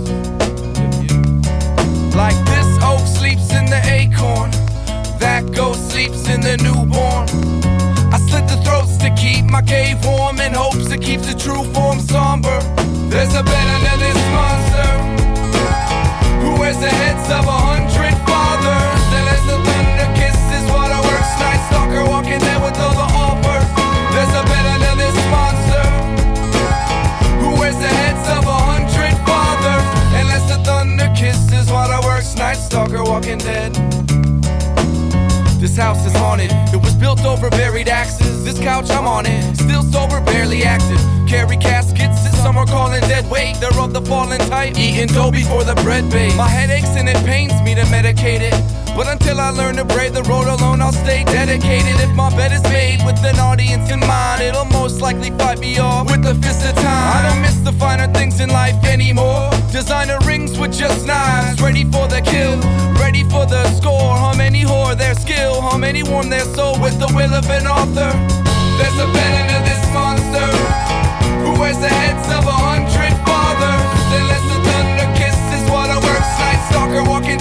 Like this oak sleeps in the acorn, that ghost sleeps in the newborn. I slit the throats to keep my cave warm in hopes it keeps the true form somber. There's a better than this monster who wears the heads of 100 fathers. Then as the thunder kisses waterworks, night stalker walking there with all the offers. There's a better than this monster who wears the heads of 100 fathers. And as the thunder kisses waterworks, night stalker walking dead. This house is haunted, it was built over buried axes. This couch, I'm on it, still sober, barely active. Carry caskets that some are calling dead weight. They're of the fallen type, eating dough before the bread bakes. My head aches and it pains me to medicate it, but until I learn to brave the road alone, I'll stay dedicated. If my bed is made with an audience in mind, it'll most likely fight me off with the fist of time. I don't miss the finer things in life anymore. Designer rings with just knives, ready for the kill, ready for the score. How many whore their skill, how many warm their soul with the will of an author. There's a better than this monster who wears the heads of 100 fathers. Then lets the thunder kiss his waterworks. Night stalker walking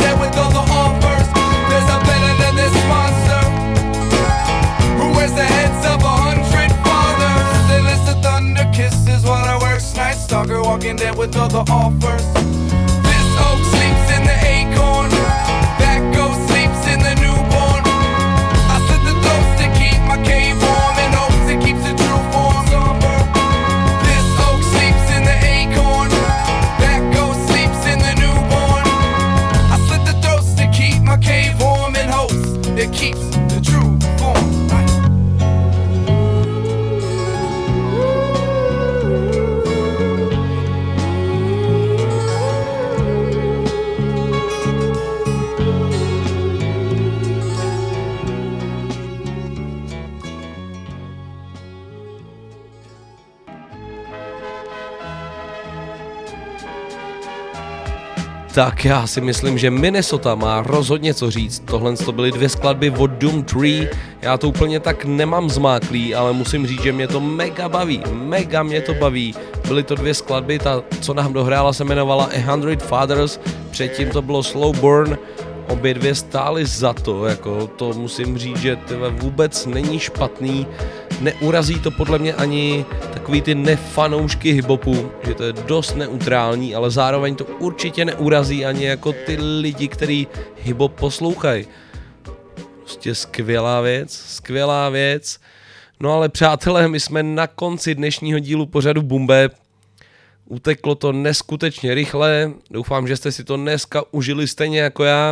walking there with other offers. This oak sleeps in the acorn, that ghost sleeps in the newborn. I slit the throats to keep my cave warm, and hopes it keeps the true form. This oak sleeps in the acorn, that ghost sleeps in the newborn. I slit the throats to keep my cave warm, and hopes it keeps the true form. Tak já si myslím, že Minnesota má rozhodně co říct. Tohle to byly 2 skladby od Doom 3. Já to úplně tak nemám zmáklý, ale musím říct, že mě to mega baví. Mega mě to baví. Byly to 2 skladby, ta, co nám dohrála, se jmenovala 100 Fathers. Předtím to bylo Slow Burn. Obě 2 stály za to, jako to musím říct, že to vůbec není špatný. Neurazí to podle mě ani takový ty nefanoušky hiphopu, že to je dost neutrální, ale zároveň to určitě neurazí ani jako ty lidi, kteří hiphop poslouchají. Prostě skvělá věc. No ale přátelé, my jsme na konci dnešního dílu pořadu Boom Bap. Uteklo to neskutečně rychle, doufám, že jste si to dneska užili stejně jako já.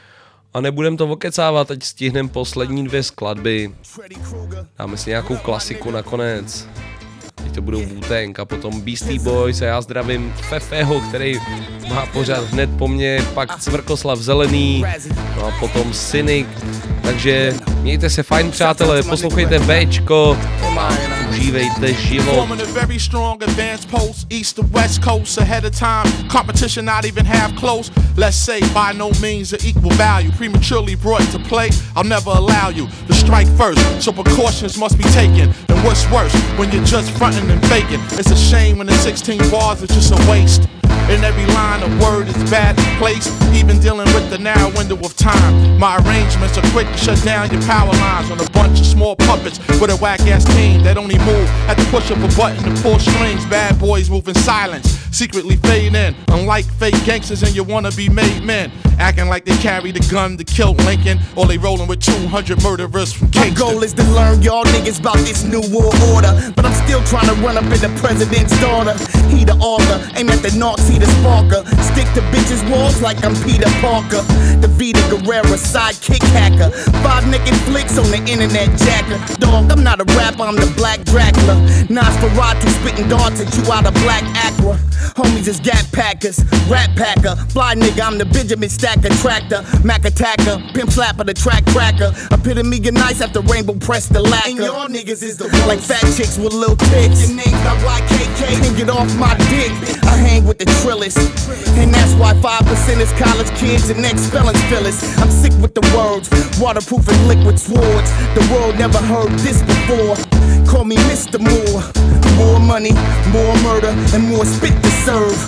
A nebudem to okecávat, ať stihnem poslední 2 skladby. Dáme si nějakou klasiku nakonec. Teď to budou Wu-Tang a potom Beastie Boys a já zdravím Fefeho, který má pořád hned po mně, pak Cvrkoslav Zelený, no a potom Cynic. Takže mějte se fajn, přátelé, poslouchejte Bčko, užívejte život. Forming a very strong advanced post, east to west coast ahead of time. Competition not even half close. Let's say by no means of equal value. Prematurely brought to play, I'll never allow you to strike first. So precautions must be taken. And what's worse, when you're just fronting and faking. It's a shame when the 16 bars are just a waste. And every line of word is badly placed, even dealing with the narrow window of time. My arrangements are quick to shut down your power lines on a bunch of small puppets with a whack-ass team that only move at the push of a button to pull strings. Bad boys move in silence, secretly fade in, unlike fake gangsters and your wannabe made men. Acting like they carry the gun to kill Lincoln, or they rolling with 200 murderers from Kingston. My goal is to learn y'all niggas about this new world order, but I'm still trying to run up in the president's daughter. He the author, aim at the narcs, he the sparker. Stick to bitches' walls like I'm Peter Parker. The Vita Guerrera sidekick hacker. 5 naked flicks on the internet jacker. Dog, I'm not a rapper, I'm the Black Dracula. Nosferatu spitting darts at you out of Black Aqua. Homies is Gap Packers, Rat Packer. Fly nigga, I'm the Benjamin Stacker tractor. Mac attacker, pimp slapper, the track cracker. Epitome of nice after Rainbow press the lacquer. And y'all niggas is the like fat chicks with little tits. Your name's not YKK, can't get off my dick. I hang with the trillers, and that's why 5% is college kids and ex-felons feel us. I'm sick with the words, waterproof and liquid swords. The world never heard this before. Call me Mr. Moore. More money, more murder, and more spit to serve.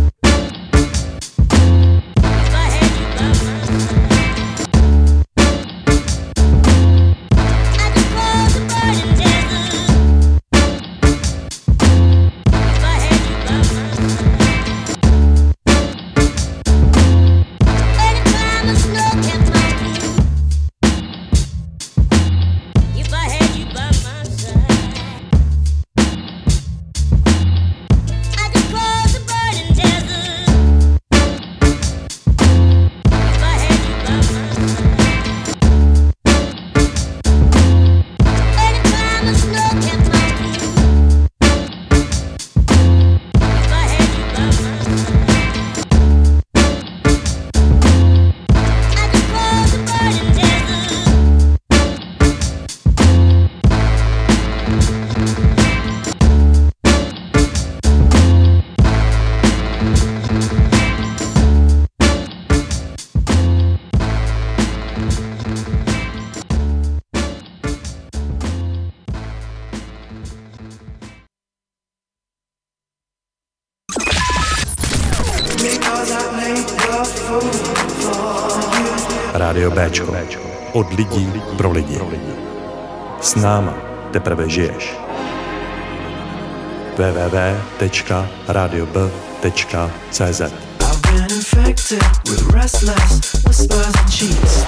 Rádio Bčko. Od lidí pro lidi. S náma teprve žiješ. www.radiob.cz. I've been infected with restless whispers and cheats.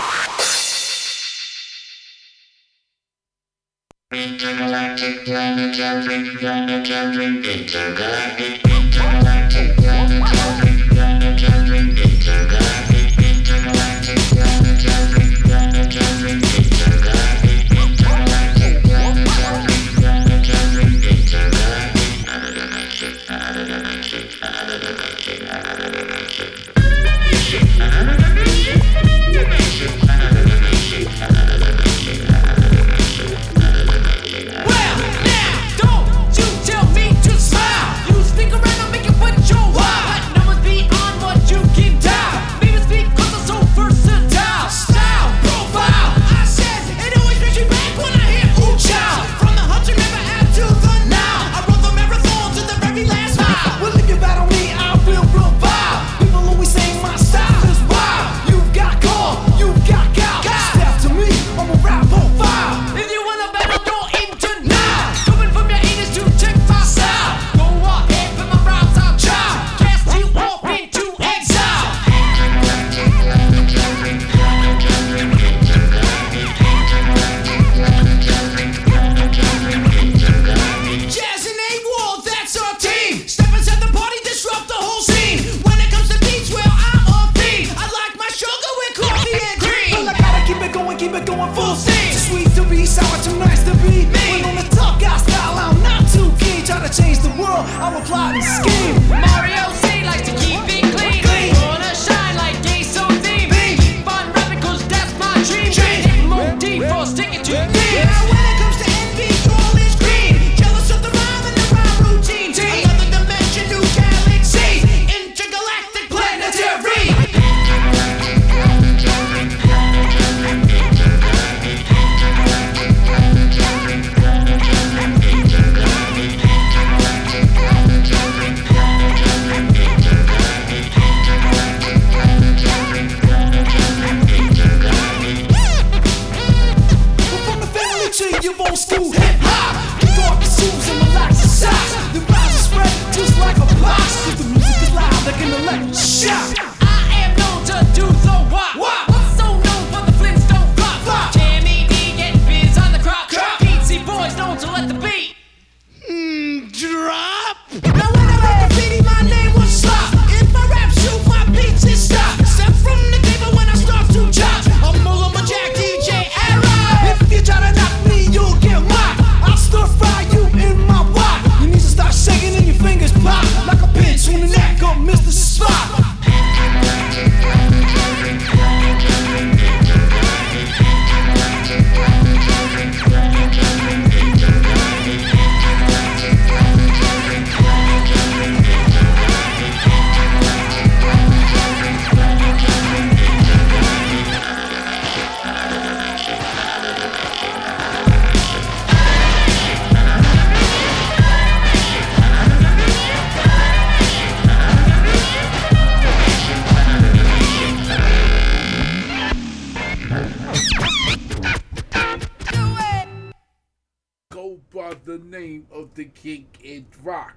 The name of the king in rock.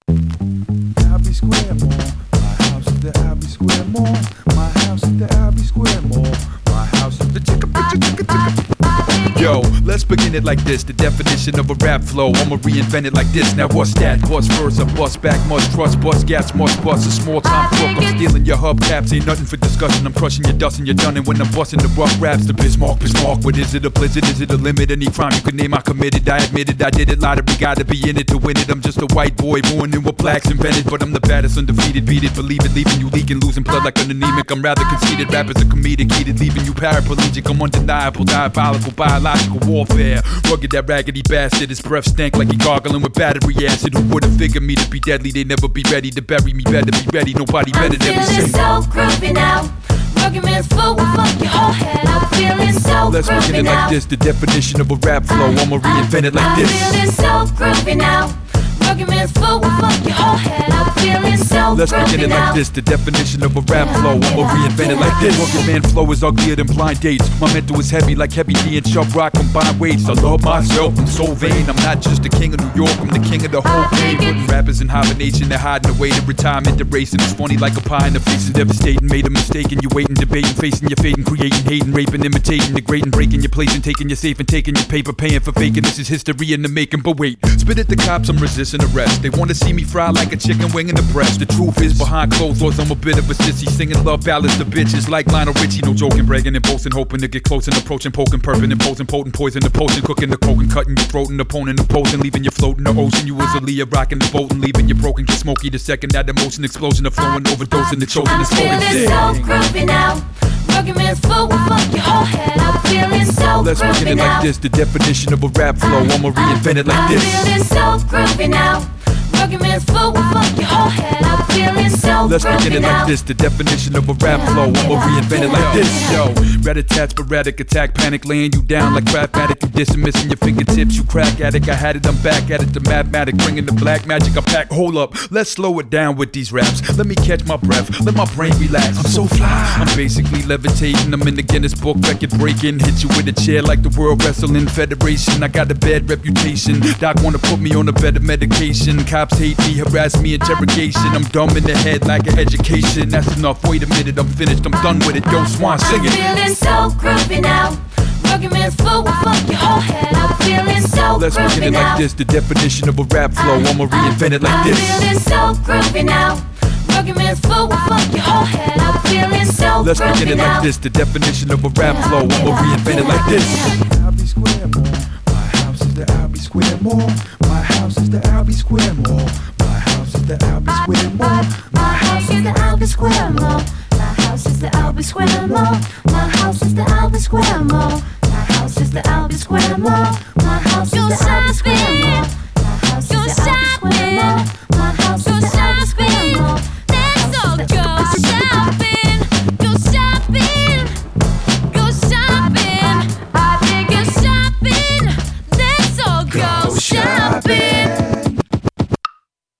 Abbey Square Mall. My house at the Abbey Square Mall. My house at the Abbey Square Mall. My house at the Yo, let's begin it like this. The definition of a rap flow, I'ma reinvent it like this. Now what's that? Bust verse, I bust back, must trust, bust gas, must bust. A small time crook, I'm stealing your hubcaps. Ain't nothing for discussion, I'm crushing your dust and you're done. And when I'm busting the rough raps, the Bismarck. What is it, a blizzard? Is it a limit? Any crime you could name, I committed. I admit it, I did it. Lottery, gotta be in it to win it. I'm just a white boy born in what blacks invented. But I'm the baddest, undefeated, beat it, believe it. Leaving you leaking, losing blood like an anemic. I'm rather conceited, rappers are comedic, heated, leaving you paraplegic. I'm undeniable, diabolical, biological warfare. Rugged, that raggedy bastard, his breath stank like he gargling with battery acid. Who would've figured me to be deadly? They never be ready to bury me, better be ready. Nobody better than me. I'm feeling so groovy now. Arguments full with fuck your whole head. I'm feeling so Let's groovy begin it now. like this, the definition of a rap flow. I'ma reinvent it like this. I'm feeling so groovy now. Arguments full with fuck your whole head. I'm feeling so now. Let's begin it like this, the definition of a rap flow. I'ma reinvent it like this. Working man flow is uglier than blind dates. My mental is heavy like Heavy D and Chubb Rock combined weights. I love myself, I'm so vain. I'm not just the king of New York, I'm the king of the whole game. Putting rappers in hibernation, they're hiding away to retirement, they're racing. It's funny like a pie in the face and devastating. Made a mistake and you waiting, debating, facing your fate and creating, hating, raping, imitating, degrading, breaking your place and taking your safe and taking your paper, paying for faking. This is history in the making, but wait, spit at the cops, I'm resisting arrest. They wanna see me fry like a chicken wing in the breast. The truth is behind closed doors, I'm a bit of a sissy, singing love ballads to bitches like Lionel Richie. No joking, bragging and boasting, hoping to get close and approaching, poking, perping, imposing, potent poison, the potion, cooking the coke and cutting your throat and opponent opposing, leaving you floating the ocean. You was a Leah rocking the boat and leaving you broken, get smoky the second that emotion explosion of flowing, overdosing the chosen is I'm feeling so groovy now. Rugged man's flow will fuck your whole head. I'm feeling so Let's groovy begin it now. like this, the definition of a rap flow. I'ma reinvent it like this. I'm feeling so groovy now. Rugged man's flow will fuck your whole head. I'm feeling so Let's begin groovy it now. like this, the definition of a rap flow. I'ma reinvent it like this. Yo, rat-a-tat, sporadic attack, panic, laying you down like Craftmatic. You dissing, missing your fingertips, you crack addict. I had it, I'm back at it, the mathematic, bringing the black magic. I pack, hold up, let's slow it down with these raps. Let me catch my breath, let my brain relax. I'm so fly, I'm basically levitating. I'm in the Guinness Book, record breaking. Hit you with a chair like the World Wrestling Federation. I got a bad reputation. Doc wanna put me on a better medication. Cops hate me, harass me, interrogation. I'm dumb in the head like an education. That's enough, wait a minute, I'm finished, I'm done with it. Yo, Swan, sing it. I'm feeling so groovy now. Rugged man's flow will fuck your whole head. I'm feeling so Let's groovy begin it now. like this, the definition of a rap flow. I'ma reinvent it like I'm this. feeling so groovy now. Rugged man's flow will fuck your whole head. I'm feeling so Let's begin groovy it now. like this, the definition of a rap flow. I'ma reinvent it like this. Albee Square Mall. My house is the Albee Square Mall. My house is the Albee Square Mall. My house is the Albee Square Mall. My house is the Albee Square Mall. My house is the Albee Square Mall. My house is the Albee Square Mall. My house is the Albee Square Mall.